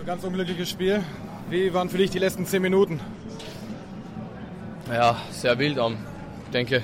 Ganz unglückliches Spiel. Wie waren für dich die letzten 10 Minuten? Ja, sehr wild. Ich denke,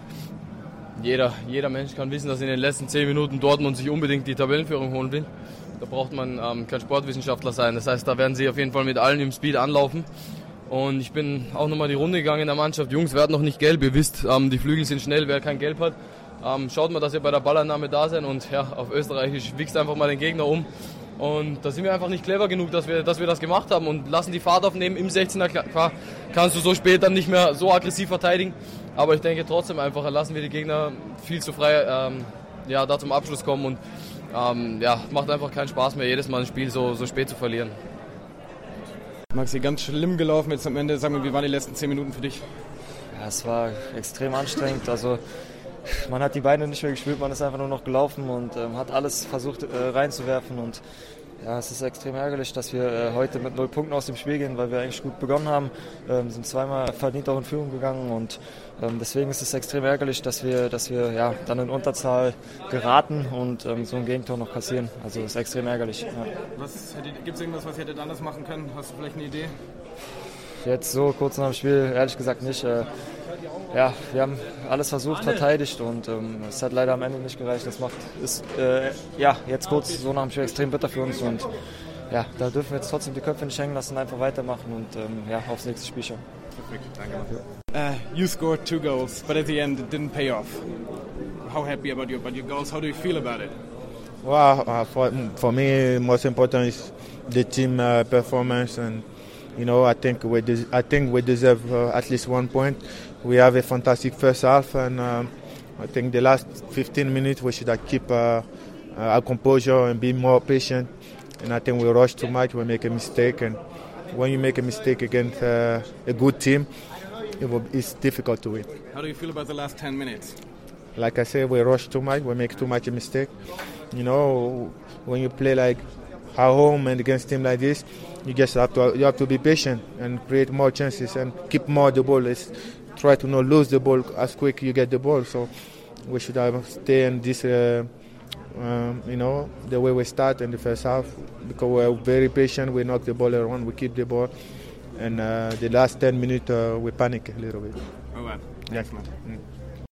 jeder Mensch kann wissen, dass in den letzten 10 Minuten Dortmund sich unbedingt die Tabellenführung holen will. Da braucht man kein Sportwissenschaftler sein. Das heißt, da werden sie auf jeden Fall mit allen im Speed anlaufen. Und ich bin auch nochmal die Runde gegangen in der Mannschaft. Jungs, werden noch nicht gelb. Ihr wisst, die Flügel sind schnell, wer kein Gelb hat. Schaut mal, dass ihr bei der Ballannahme da seid und ja, auf Österreichisch wichst einfach mal den Gegner um. Und da sind wir einfach nicht clever genug, dass wir das gemacht haben und lassen die Fahrt aufnehmen im 16er. Klar, kannst du so spät dann nicht mehr so aggressiv verteidigen. Aber ich denke trotzdem einfach, lassen wir die Gegner viel zu frei da zum Abschluss kommen. Und macht einfach keinen Spaß mehr, jedes Mal ein Spiel so spät zu verlieren. Maxi, ganz schlimm gelaufen jetzt am Ende. Sag mal, wie waren die letzten 10 Minuten für dich? Ja, es war extrem anstrengend. Also man hat die Beine nicht mehr gespürt, man ist einfach nur noch gelaufen und hat alles versucht reinzuwerfen. Und ja, es ist extrem ärgerlich, dass wir heute mit 0 Punkten aus dem Spiel gehen, weil wir eigentlich gut begonnen haben. Sind zweimal verdient auch in Führung gegangen und deswegen ist es extrem ärgerlich, dass wir dann in Unterzahl geraten und so ein Gegentor noch kassieren. Also es ist extrem ärgerlich. Ja. Gibt es irgendwas, was ihr hättet anders machen können? Hast du vielleicht eine Idee? Jetzt so kurz nach dem Spiel ehrlich gesagt nicht. Wir haben alles versucht, verteidigt und es hat leider am Ende nicht gereicht. Das ist jetzt kurz so nach dem Spiel extrem bitter für uns und ja, da dürfen wir jetzt trotzdem die Köpfe nicht hängen lassen, einfach weitermachen und aufs nächste Spiel schauen. Perfekt, danke. You scored 2 goals, but at the end it didn't pay off. How happy about your goals? How do you feel about it? Well, for me, most important is the team performance, and I think we deserve at least 1 point. We have a fantastic first half, and I think the last 15 minutes we should keep our composure and be more patient. And I think we rush too much, we make a mistake, and when you make a mistake against a good team, it's difficult to win. How do you feel about the last 10 minutes? Like I said, we rush too much, we make too much a mistake. When you play like at home and against team like this, you have to be patient and create more chances and keep more the ball. Try to not lose the ball as quick you get the ball. So we should stay in this, the way we start in the first half, because we're very patient. We knock the ball around, we keep the ball, and the last 10 minutes we panic a little bit. All right. Thanks, man.